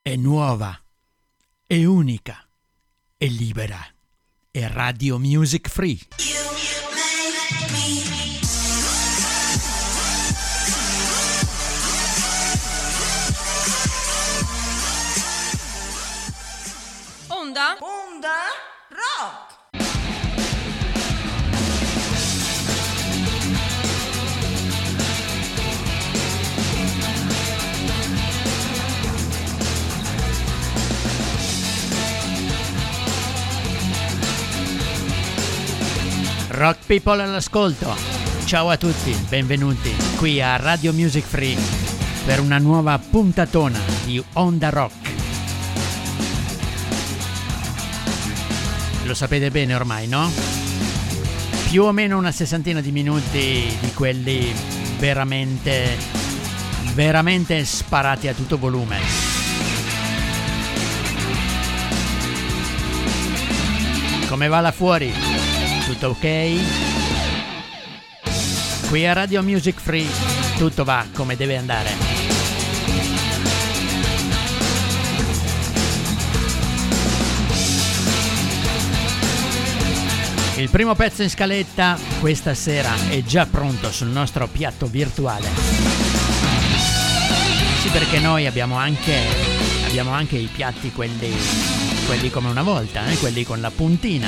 è nuova, è unica, è libera, è Radio Music Free. Onda Rock. Rock people all'ascolto, ciao a tutti, benvenuti qui a Radio Music Free per una nuova puntatona di Onda Rock. Lo sapete bene ormai, no? Più o meno una sessantina di minuti di quelli veramente sparati a tutto volume. Come va là fuori? Tutto ok? Qui a Radio Music Free tutto va come deve andare. Il primo pezzo in scaletta questa sera è già pronto sul nostro piatto virtuale. Sì, perché noi abbiamo anche i piatti quelli come una volta, quelli con la puntina.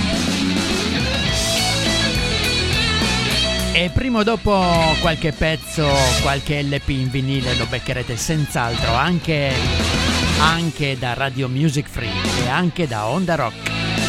E prima o dopo qualche pezzo, qualche LP in vinile lo beccherete senz'altro anche da Radio Music Free e anche da Onda Rock.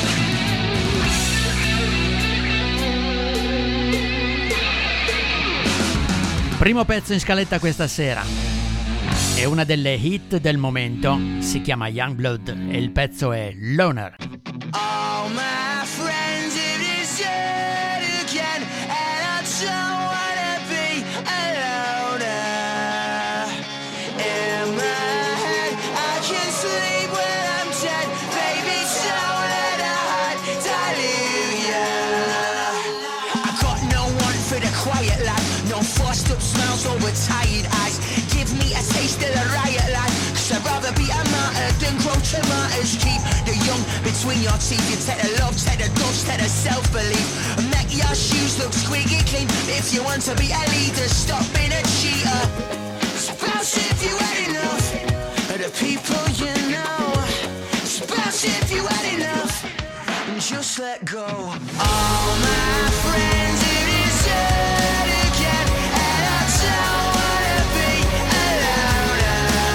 Primo pezzo in scaletta questa sera è una delle hit del momento, si chiama Youngblood e il pezzo è Loner. All my friends, it is yet again, and I don't wanna be a loner. In my head, I can sleep when I'm dead, baby, don't let a heart dilute ya. I got no one for the quiet life, no forced up smiles over tired eyes. Give me a taste of the riot life, 'cause I'd rather be a martyr than grow tomatoes. Keep the young between your teeth. You take the love, take the dust, take the self-belief, and make your shoes look squeaky clean. If you want to be a leader, stop being a cheater. Spouse if you had enough of the people you know. Spouse if you had enough, and just let go. All my friends, it is yet again, and I don't wanna be alone.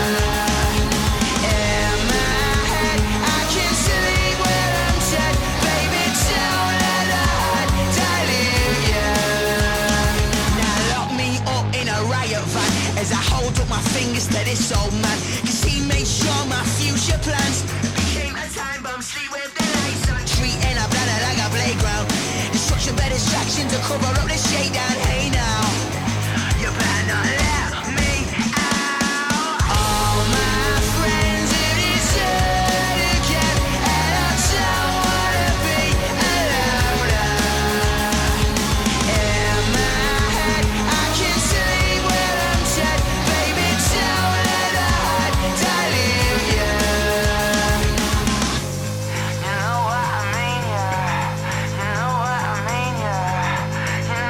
In my head, I can sleep when I'm dead, baby, don't let a heart dilute ya. Now lock me up in a riot van as I hold up my fingers to this old man, 'cause he made sure my future plans became a time bomb. Sleep with the lights on, treating a planet like a playground. It's such a better distraction to cover up the shakedown. Hey now, you better not let me out. All my friends, it is yet again, and I don't wanna be alone. In my head, I can sleep when I'm dead, baby, don't let a heart dilute ya. You know what I mean, yeah. You know what I mean, yeah. You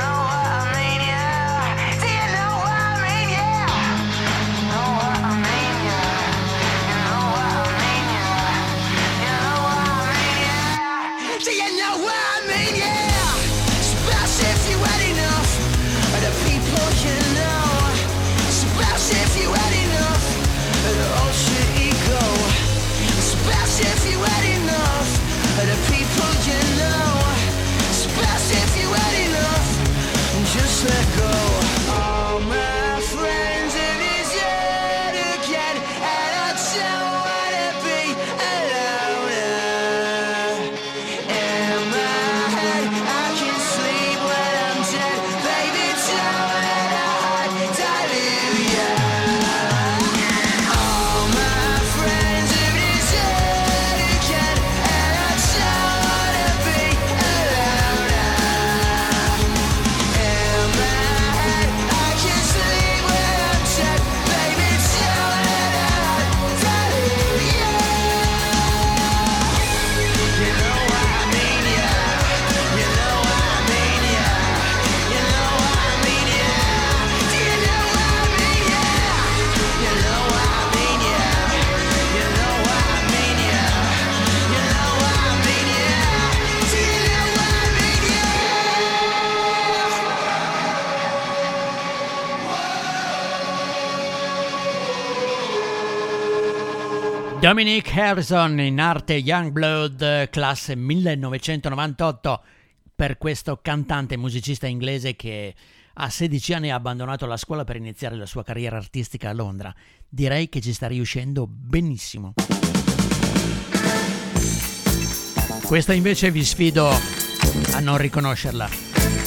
Dominic Harrison, in arte Youngblood, classe 1998, per questo cantante e musicista inglese che a 16 anni ha abbandonato la scuola per iniziare la sua carriera artistica a Londra. Direi che ci sta riuscendo benissimo. Questa invece vi sfido a non riconoscerla.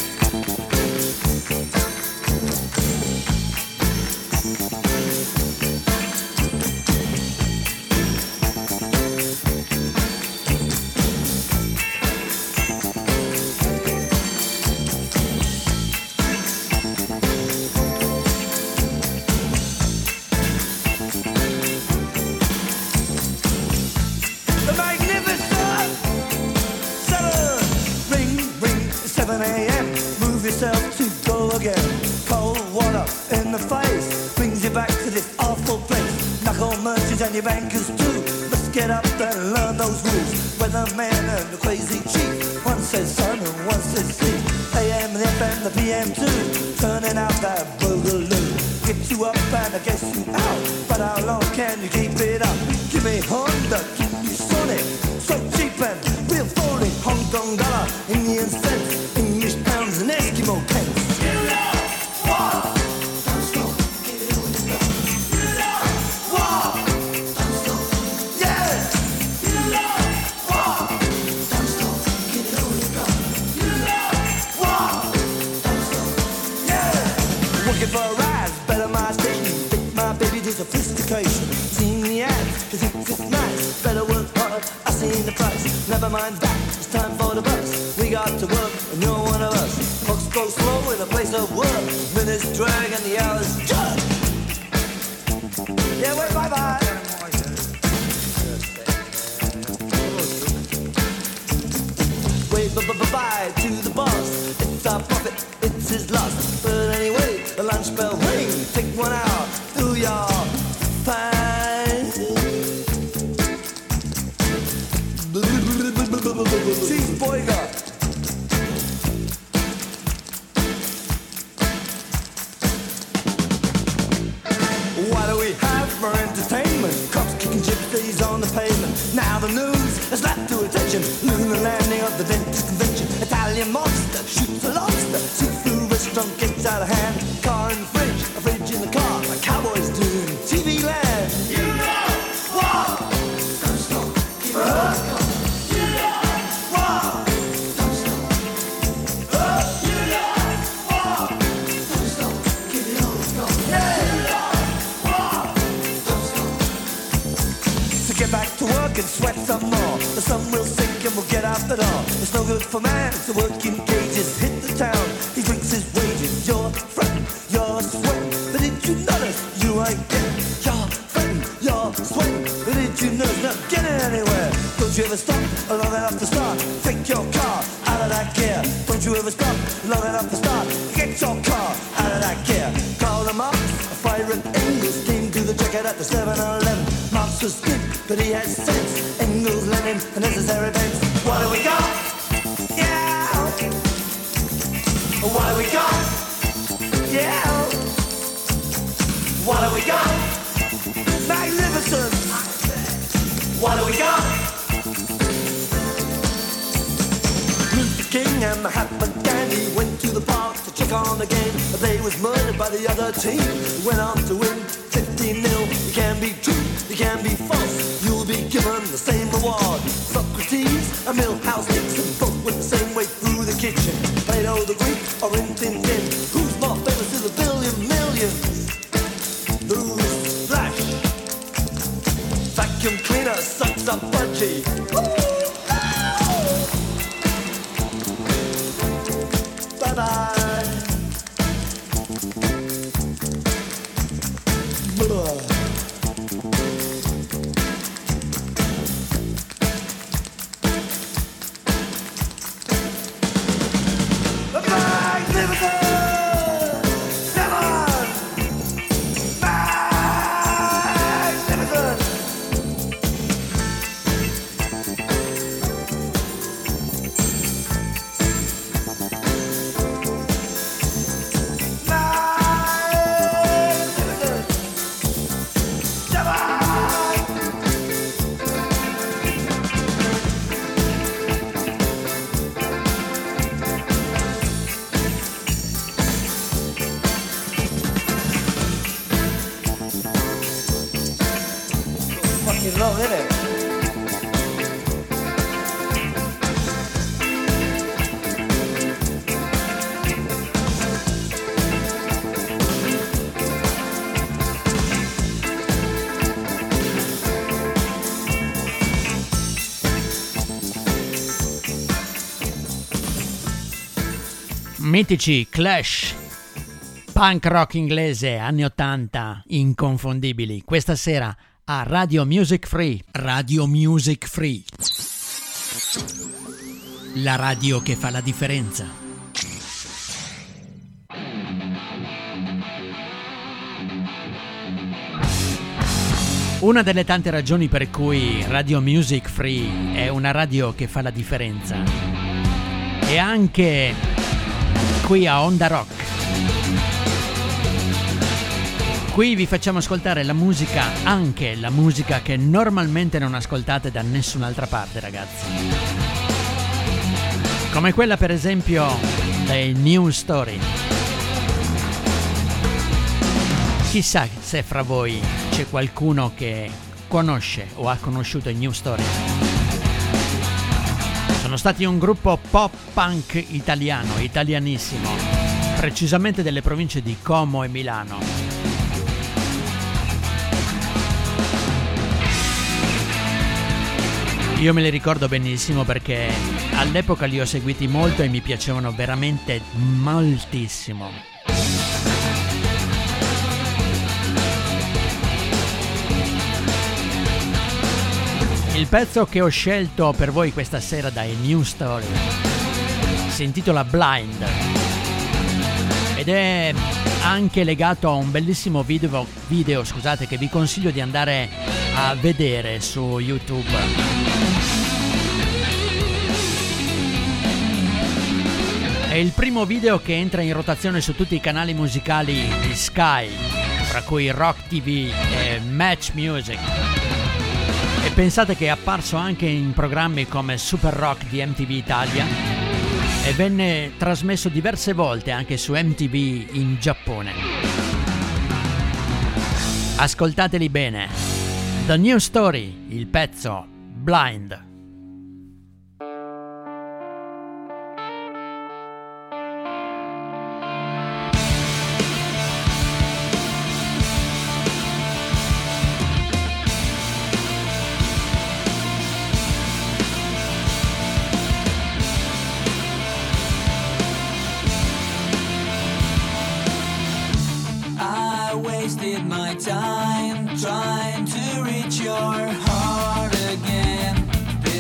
And your bankers too must get up and learn those rules. Weatherman and the crazy chief, one says sun and one says sea. AM, the FM, the PM too, turning out that boogaloo. Get you up and I guess you out, but how long can you keep it up? Give me Honda, give me Sonic, so cheap and real phony. Hong Kong dollar, Indian cents, English pounds and Eskimo pence. For a ride, better my station. Take my baby to sophistication. Seen the ads, cause it's nice. Better work hard, I seen the price. Never mind that, it's time for the bus. We got to work, and you're one of us. Clocks go slow in a place of work. Minutes drag and the hours jug. Yeah, wait, bye-bye. Wait, bye-bye to the boss. It's our profit, it's his loss. But anyway, the lunch bell ring. Take 1 hour, do your fine. Cheese burger. What do we have for entertainment? Cops kicking gypsies on the pavement. Now the news has slapped to attention. Lunar landing of the dentist convention. Italian monster shoots a lobster. Seafood restaurant gets out of hand. Car in the fridge, a fridge in the car. Like cowboys do in TV land. You know what? Don't stop, keep it on. You know what? Don't stop. You know what? Don't stop, keep it on. Yeah. You know what? Don't stop. So get back to work and sweat some more. The sun will sink and we'll get out the door. It's no good for man to work in cages. Hit the town, he drinks his wages. You're fretting, you're sweating, but did you notice you ain't getting? You're fretting, you're sweating, but did you notice not getting anywhere? Don't you ever stop long enough to start? Take your car out of that gear. Don't you ever stop long enough to start? Get your car out of that gear. Call them up, a fire and Engels came to the jacket at the 7-Eleven. Marx was good, but he had sense. Engels, Lenin, the necessary events. What do we got? Yeah. What do we got? Yeah. What do we got? Magnificent. What do we got? Luther King and Mahatma Gandhi went to the park to check on the game. They was murdered by the other team. Went on to win 15-0. You can be true, you can be false. You'll be given the same reward. Socrates and Milhouse Nixon both went the same way through the kitchen. Plato the Greek or Rin Tin Tin. Who's more famous to the billion millions? Who's Flash? Vacuum cleaner sucks up budgie. Bye-bye. no, vede? Mitici Clash, punk rock inglese anni 80, inconfondibili, questa sera a Radio Music Free. Radio Music Free, la radio che fa la differenza. Una delle tante ragioni per cui Radio Music Free è una radio che fa la differenza è anche qui a Onda Rock. Qui vi facciamo ascoltare la musica, anche la musica che normalmente non ascoltate da nessun'altra parte, ragazzi. Come quella per esempio dei New Story. Chissà se fra voi c'è qualcuno che conosce o ha conosciuto i New Story. Sono stati un gruppo pop punk italiano, italianissimo, precisamente delle province di Como e Milano. Io me li ricordo benissimo perché all'epoca li ho seguiti molto e mi piacevano veramente moltissimo. Il pezzo che ho scelto per voi questa sera dai New Story si intitola Blind ed è anche legato a un bellissimo video che vi consiglio di andare a vedere su YouTube. È il primo video che entra in rotazione su tutti i canali musicali di Sky, fra cui Rock TV e Match Music. E pensate che è apparso anche in programmi come Super Rock di MTV Italia e venne trasmesso diverse volte anche su MTV in Giappone. Ascoltateli bene. The New Story, il pezzo Blind. Wasted my time trying to reach your heart again.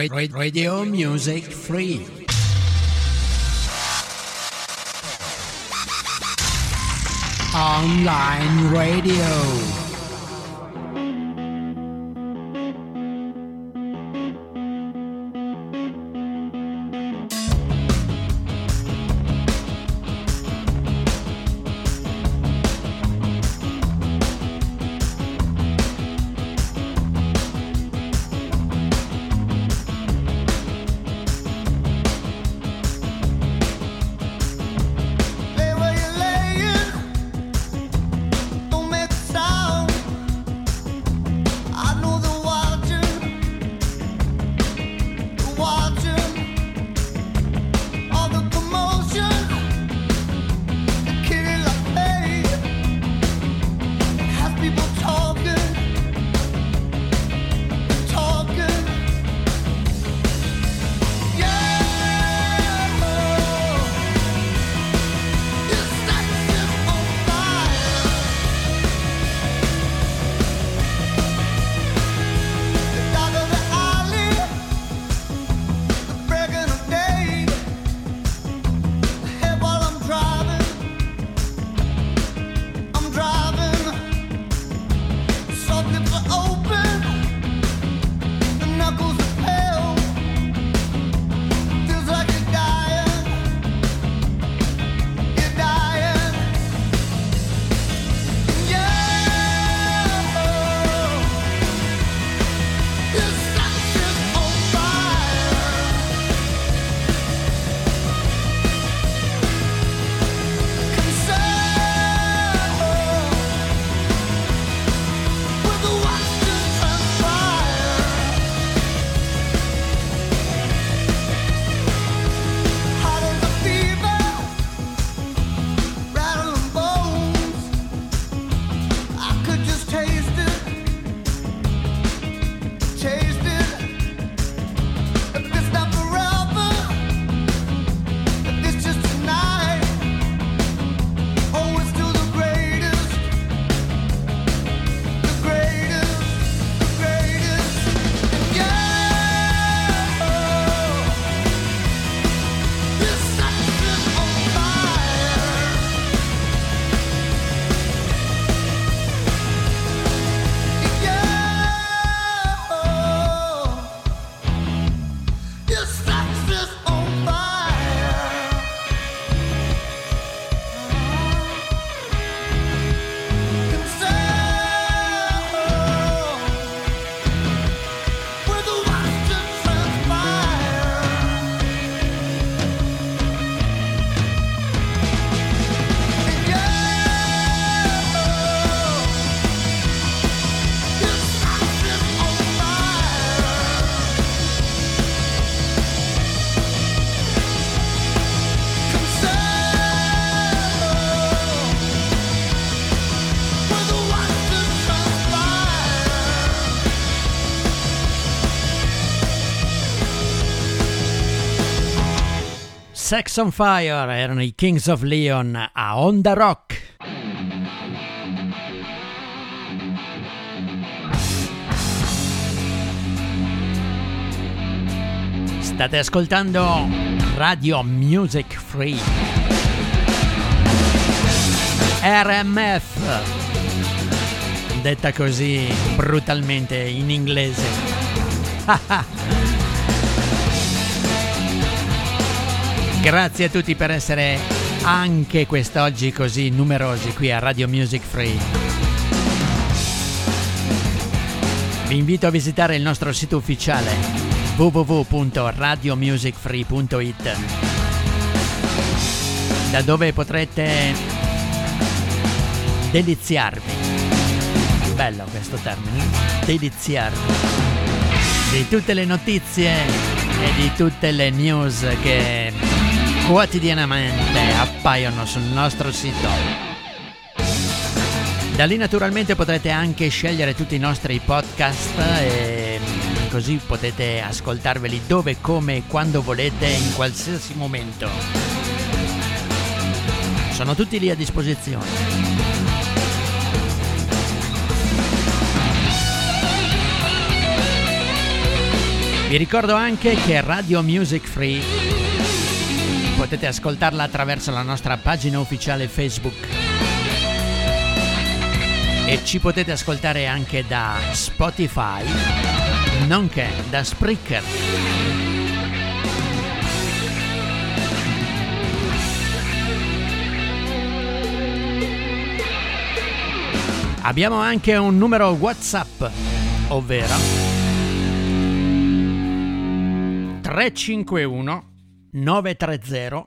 Radio Music Free. Online radio. Sex on Fire erano i Kings of Leon a Onda Rock. State ascoltando Radio Music Free, RMF, detta così brutalmente in inglese. Grazie a tutti per essere anche quest'oggi così numerosi qui a Radio Music Free. Vi invito a visitare il nostro sito ufficiale www.radiomusicfree.it, da dove potrete deliziarvi, bello questo termine, deliziarvi di tutte le notizie e di tutte le news che quotidianamente appaiono sul nostro sito. Da lì naturalmente potrete anche scegliere tutti i nostri podcast e così potete ascoltarveli dove, come e quando volete, in qualsiasi momento. Sono tutti lì a disposizione. Vi ricordo anche che Radio Music Free potete ascoltarla attraverso la nostra pagina ufficiale Facebook e ci potete ascoltare anche da Spotify, nonché da Spreaker. Abbiamo anche un numero WhatsApp, ovvero 351 930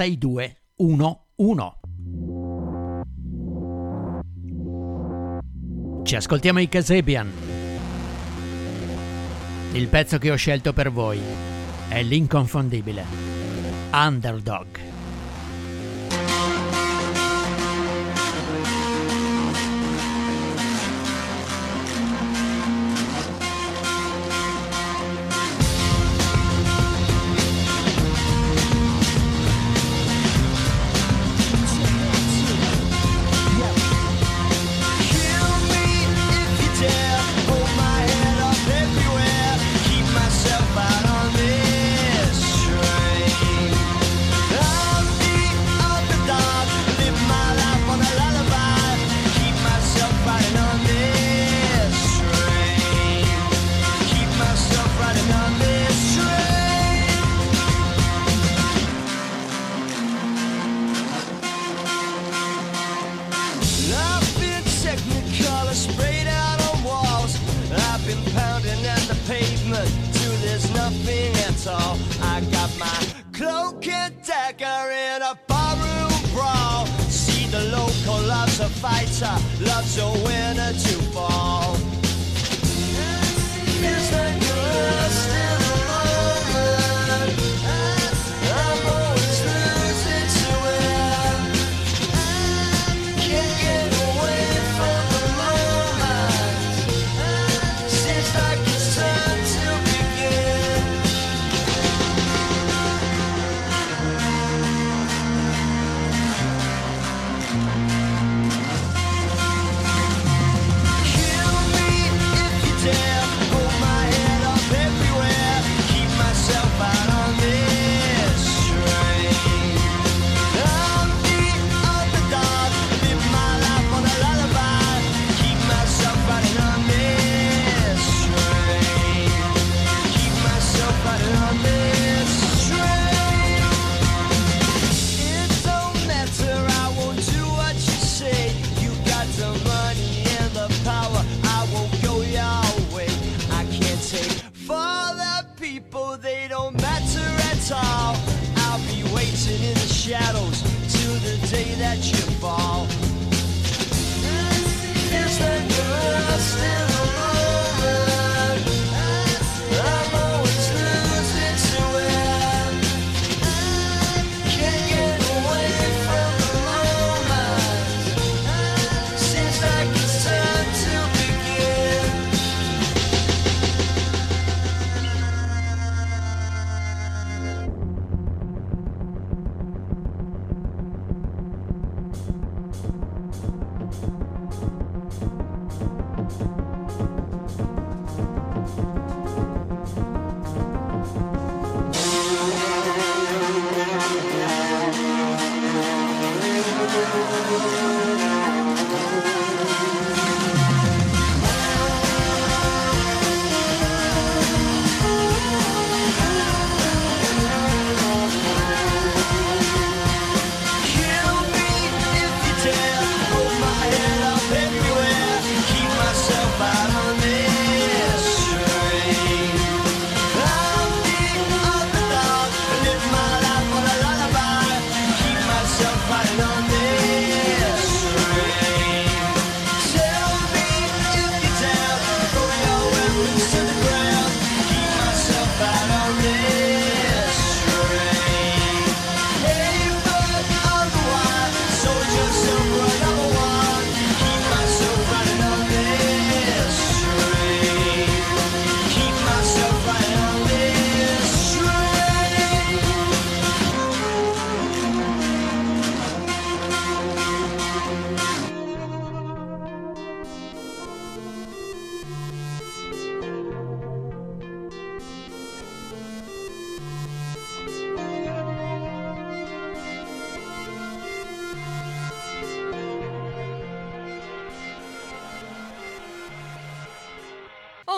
6211. Ci ascoltiamo i Kasabian. Il pezzo che ho scelto per voi è l'inconfondibile Underdog. Loves a winner to fall. Feels like you're lost in the moment. I'm always losing to it. Can't get away from the moment. Seems like it's time to begin. They don't matter at all. I'll be waiting in the shadows till the day that you fall. Feels like you're lost in the moment. I'm always losing to it. Can't get away from the moment. Seems like it's time to begin.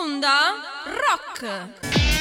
Onda Rock.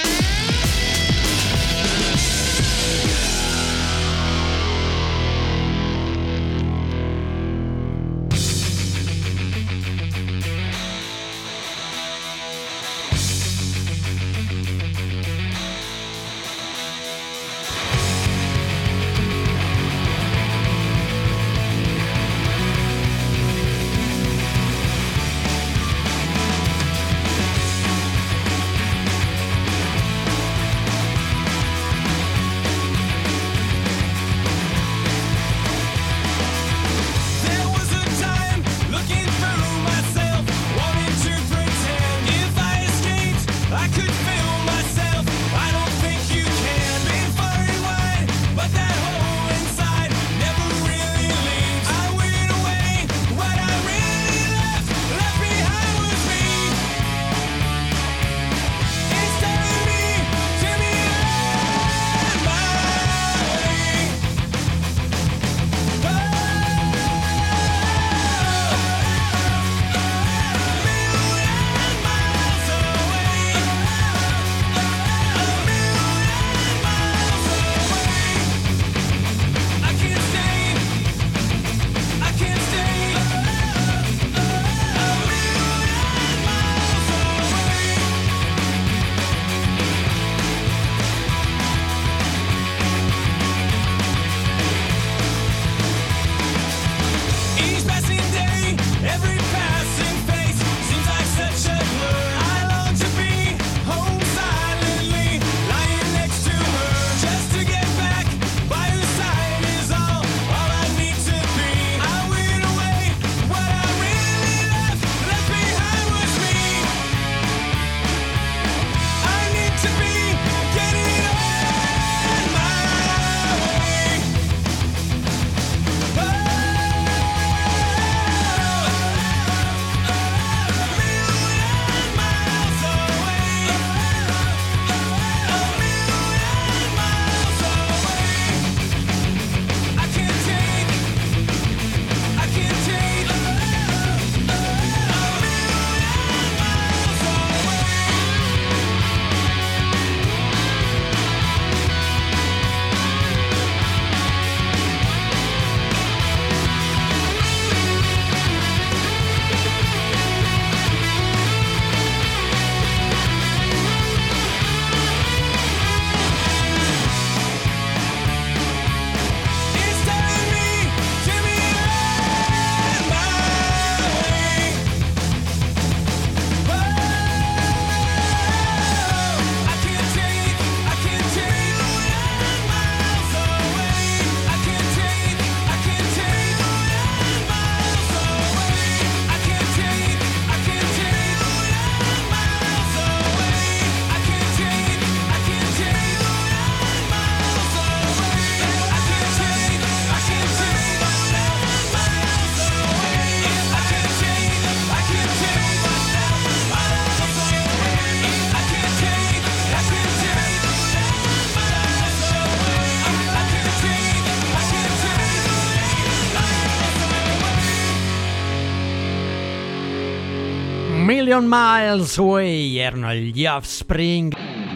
Million Miles Away erano gli Offspring.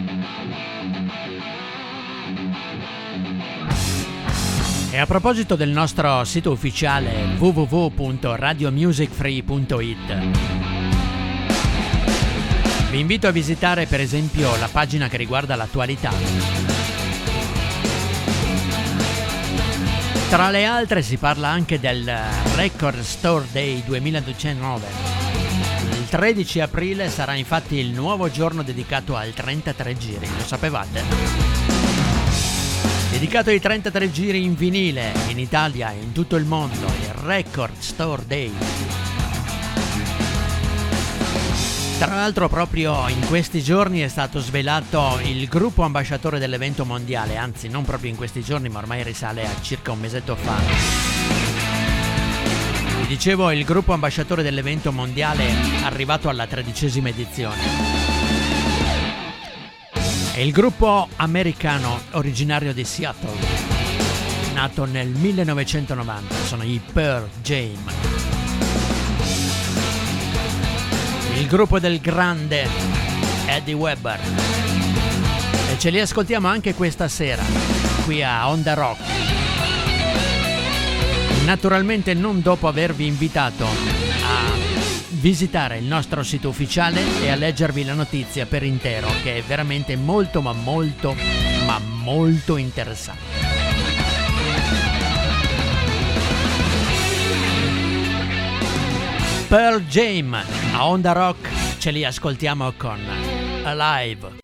E a proposito del nostro sito ufficiale www.radiomusicfree.it, vi invito a visitare per esempio la pagina che riguarda l'attualità. Tra le altre si parla anche del Record Store Day 2019. Il 13 aprile sarà infatti il nuovo giorno dedicato al 33 giri, lo sapevate? Dedicato ai 33 giri in vinile in Italia e in tutto il mondo, il Record Store Day. Tra l'altro proprio in questi giorni è stato svelato il gruppo ambasciatore dell'evento mondiale, anzi non proprio in questi giorni ma ormai risale a circa un mesetto fa. Vi dicevo, il gruppo ambasciatore dell'evento mondiale arrivato alla 13ª edizione. È il gruppo americano originario di Seattle, nato nel 1990, sono i Pearl Jam. Il gruppo del grande Eddie Webber. E ce li ascoltiamo anche questa sera, qui a Onda Rock. Naturalmente non dopo avervi invitato a visitare il nostro sito ufficiale e a leggervi la notizia per intero, che è veramente molto ma molto ma molto interessante. Pearl Jam a Onda Rock, ce li ascoltiamo con Alive.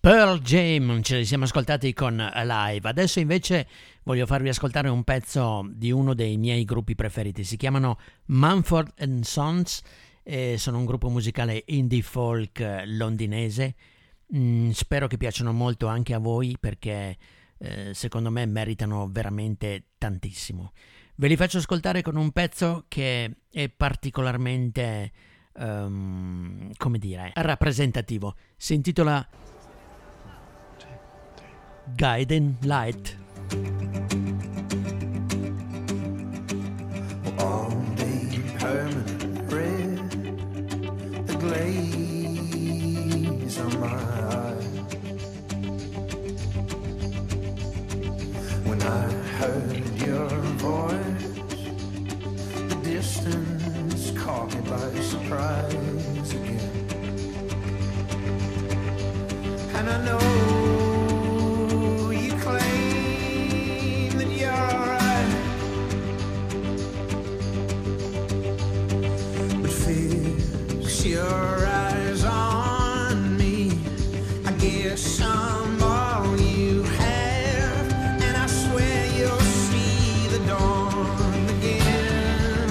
Pearl Jam, ce li siamo ascoltati con Alive. Adesso invece voglio farvi ascoltare un pezzo di uno dei miei gruppi preferiti. Si chiamano Mumford & Sons e sono un gruppo musicale indie folk londinese. Spero che piacciono molto anche a voi perché secondo me meritano veramente tantissimo. Ve li faccio ascoltare con un pezzo che è particolarmente come dire, rappresentativo. Si intitola Guiding Light. All day permanent red, the glaze on my eyes. When I heard your voice, the distance caught me by surprise again. And I know you claim that you're alright, but fix your eyes on me. I guess I'm all you have, and I swear you'll see the dawn again.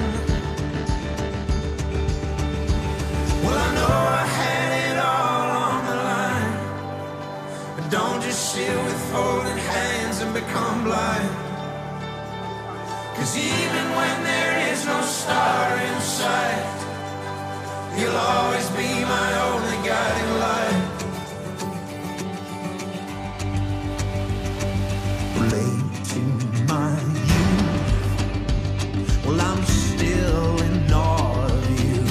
Well, I know I had it all on the line, but don't just sit with folded hands and become blind. 'Cause even when there is no star in sight, you'll always be my only guiding light. Late in my youth, well, I'm still in awe of you.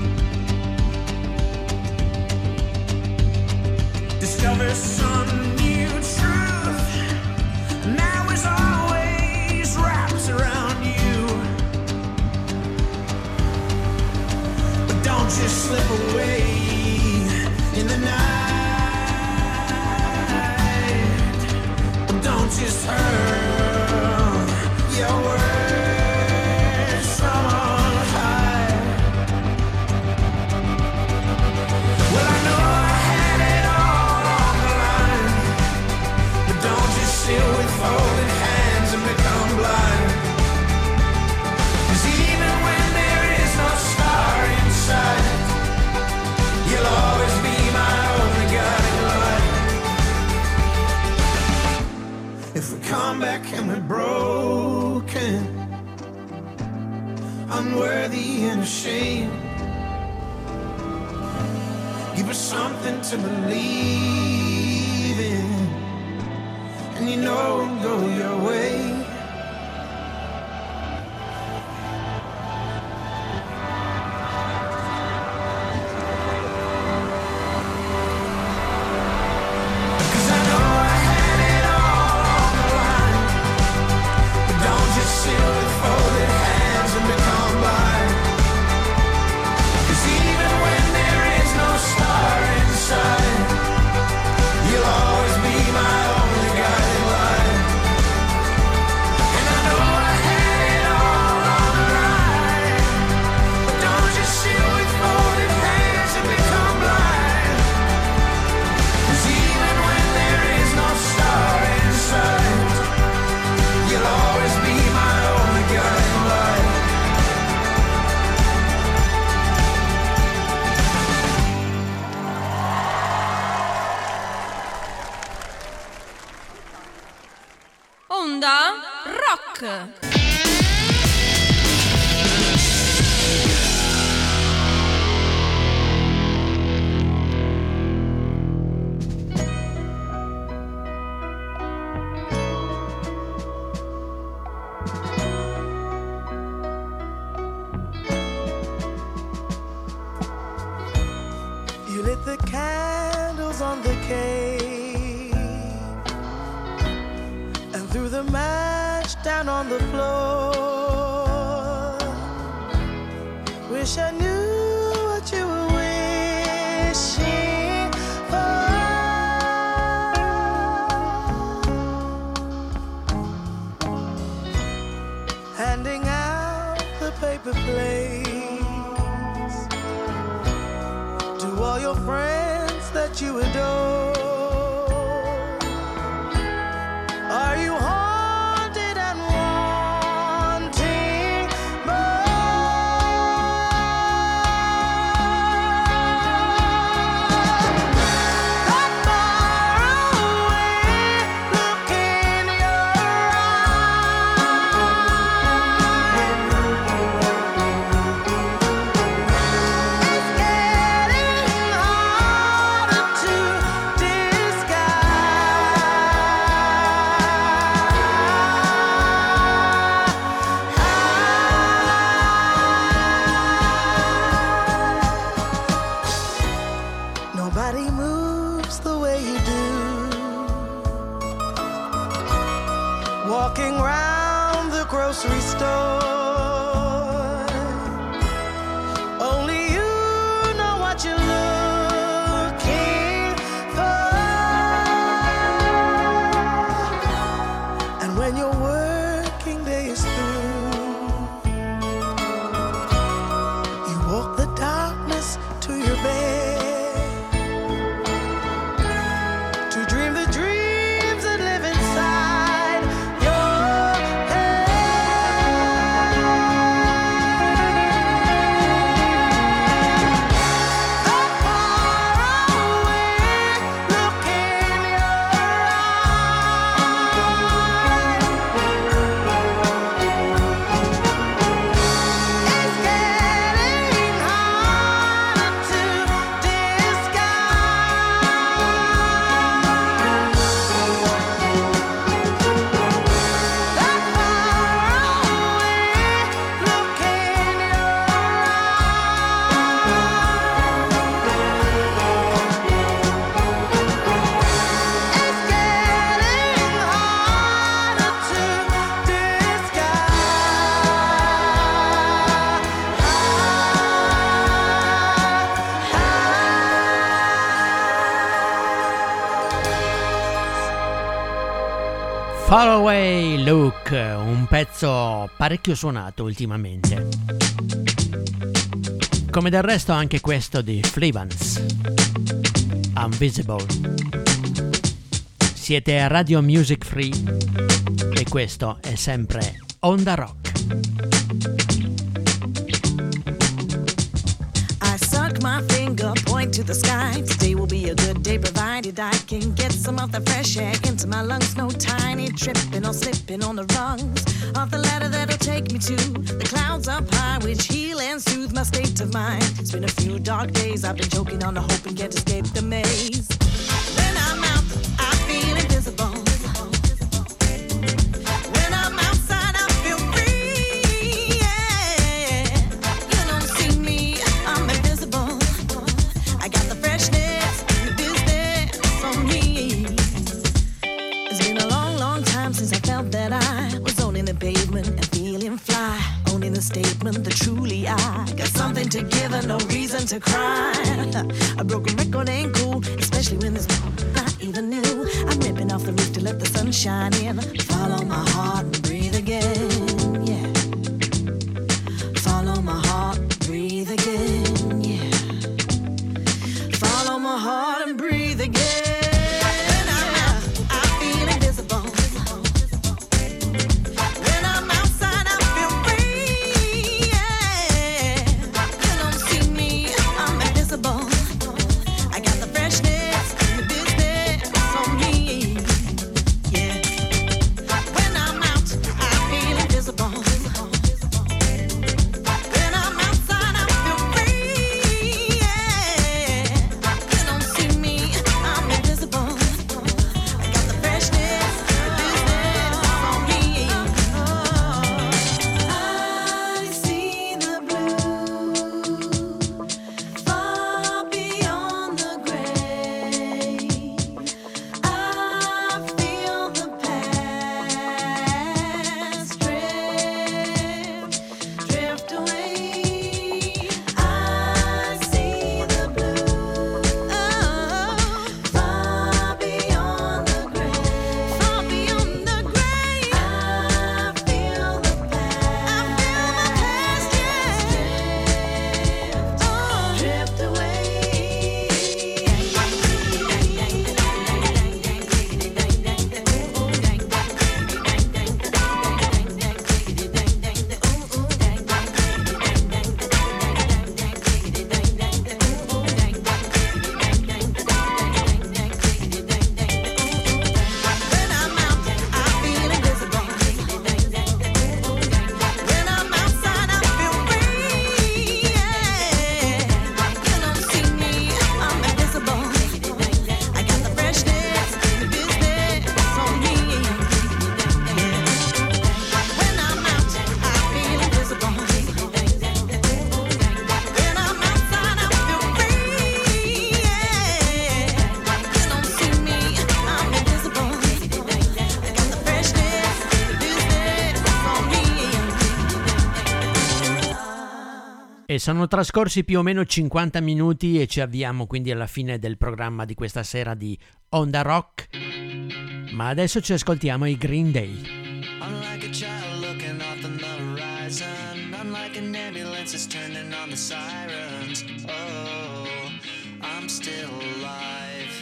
Discover some new truth, now is always wrapped around you. But don't just slip away in the night. Don't just hurl your words from on high. Well, I know I had it all on the line, but don't just sit with folded hands and become blind. 'Cause even when there is no star in sight, you'll always be my only guiding light. If we come back and we're broken, unworthy and ashamed, give us something to believe in, and you know it'll go your way. Onda Rock. You lit the candles on the cave and threw the match down on the floor. Wish I knew what you were wishing for. Handing out the paper plates to all your friends that you adore. grocery store. Only you know what you're looking for. And when your working day is through, you walk the darkness to your bed. Far Away Look, un pezzo parecchio suonato ultimamente. Come del resto anche questo di Fleavans, Invisible. Siete a Radio Music Free e questo è sempre Onda Rock. My finger point to the sky. Today will be a good day provided I can get some of the fresh air into my lungs. No tiny tripping or slipping on the rungs of the ladder that'll take me to the clouds up high, which heal and soothe my state of mind. It's been a few dark days, I've been choking on the hope and can't escape the maze. When I'm out, I feel invisible. Pavement and feeling fly, owning the statement that truly I got something to give and no reason to cry. A broken record ain't cool, especially when there's not even new. I'm ripping off the roof to let the sun shine in. Follow my heart and breathe again, yeah. Follow my heart, breathe again, yeah. Follow my heart and breathe again. Feeling E sono trascorsi più o meno 50 minuti e ci avviamo quindi alla fine del programma di questa sera di Onda Rock. Ma adesso ci ascoltiamo i Green Day. Unlike a child looking off on the horizon, unlike an ambulance that's turning on the sirens. Oh, I'm still alive.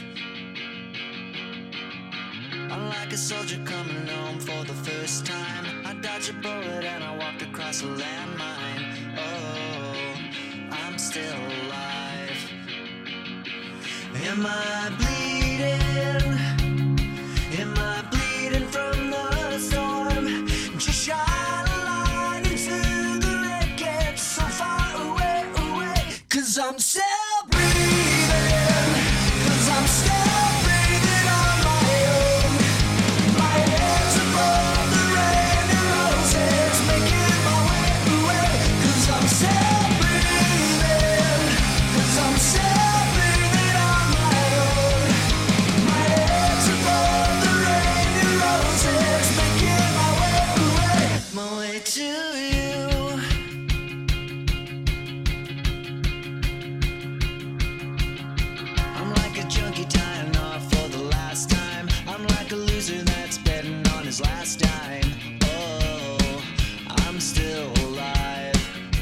Unlike a soldier coming home for the first time, I dodged a bullet and I walked across a landmine. Oh, I'm still alive. Am I bleeding? Am I bleeding from the storm? Just shine a light into the wreckage so far away, away. 'Cause I'm still breathing, 'cause I'm still breathing on my own. My head's above the rain and roses, making my way away. 'Cause I'm still breathing, 'cause I'm still breathing on my own. My head's above the rain and roses, making my way away. My way to you. I'm like a junkie tying off for the last time. I'm like a loser that's betting on his last dime. Oh, I'm still alive.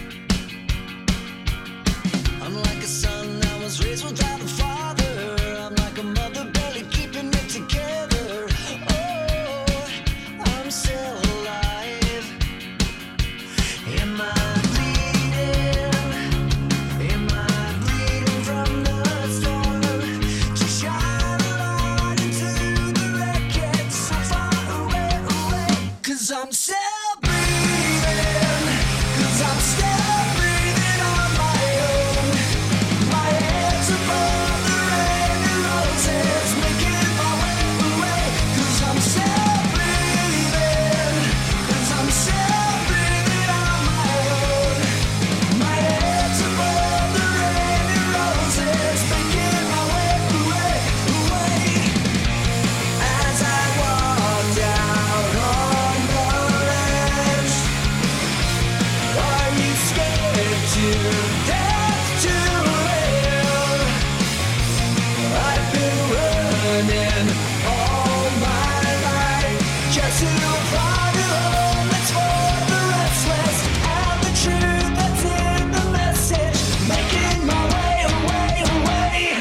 I'm like a son that was raised without a father. I'm like a mother barely keeping it together. Oh, I'm still alive. Am I bleeding? Am I bleeding from the storm? Just shine a light into the wreckage so far away, away. 'Cause I'm still breathing, 'cause I'm still breathing on my own. My head's above the rain and roses, making my way away. 'Cause I'm still breathing, 'cause I'm still breathing on my own. My head's above the rain and roses, making my way away, away. As I walked out on the ledge, are you scared to death to live? I've been running all my life just to find a home that's for the restless, and the truth that's in the message, making my way away, away.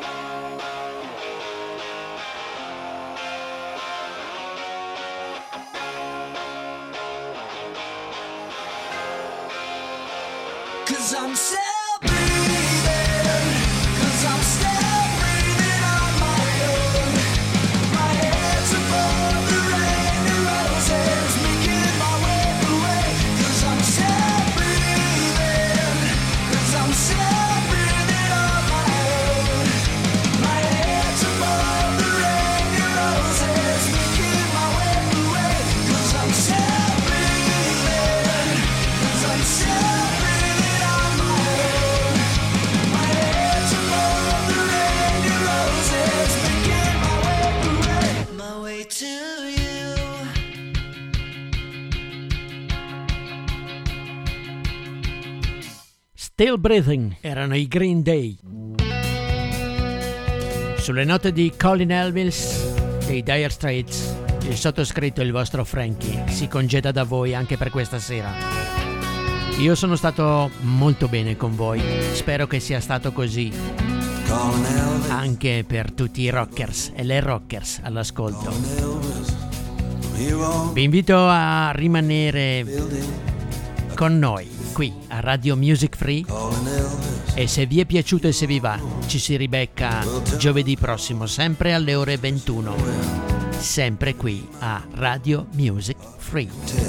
Cause I'm still breathing, cause I'm still breathing on my own. My head's above the rain and roses, making my way away. Cause I'm still breathing, cause I'm still breathing on my own. My head's above the rain and roses, making my way away. Cause I'm still breathing, cause I'm still breathing on my own. My head's above the rain and roses, making my way away. My way to you. Still Breathing erano i Green Day. Sulle note di Colin Elvis dei Dire Straits, il sottoscritto, il vostro Frankie, si congeda da voi anche per questa sera. Io sono stato molto bene con voi, spero che sia stato così anche per tutti i rockers e le rockers all'ascolto. Vi invito a rimanere con noi qui a Radio Music Free e se vi è piaciuto e se vi va ci si ribecca giovedì prossimo sempre alle ore 21, sempre qui a Radio Music Free.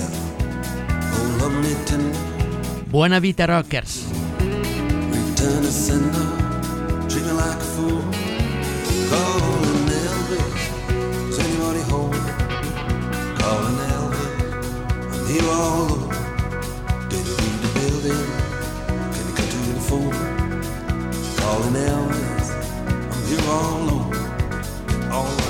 Buona vita rockers. Return to sender, treat me like a fool. Calling Elvis, is anybody home? Calling Elvis, I'm here all alone. Did you leave the building? Can you come to the phone? Calling Elvis, I'm here all alone. All right.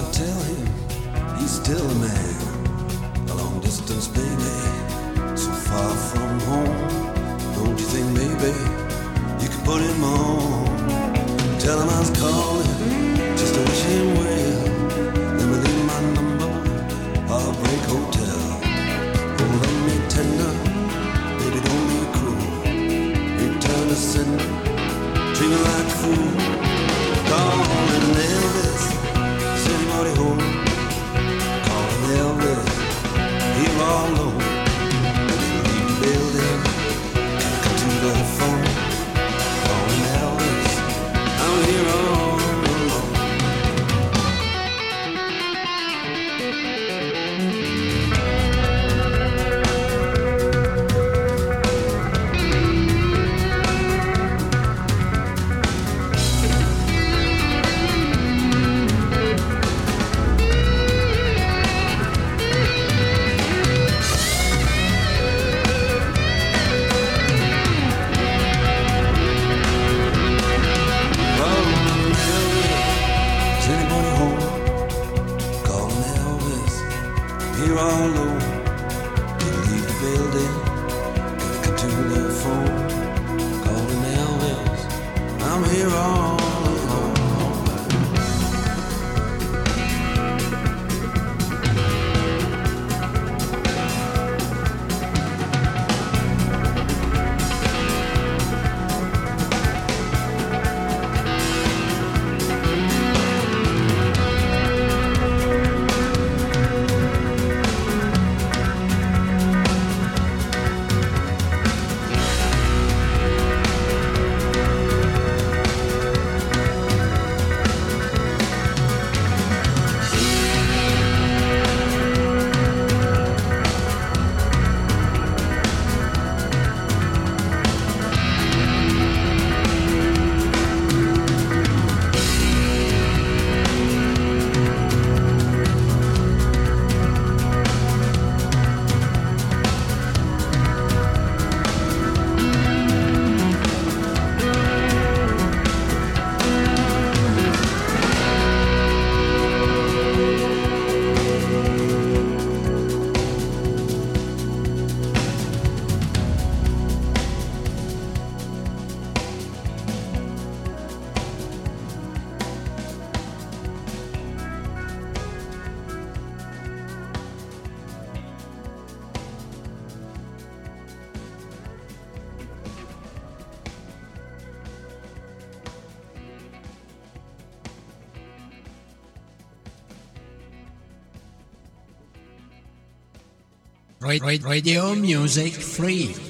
tell him he's still a man, a long distance baby, so far from home. Don't you think maybe you could put him on? Tell him I was calling just to wish him well. Let me leave my number, Heartbreak Hotel. Hold on me tender, baby don't be cruel. Return to sender, treat me like a fool. Calling Elvis, is anybody home? Calling Elvis, here all alone. Leave the building, come to the phone. Calling Elvis, I'm here all alone. Radio Music Free.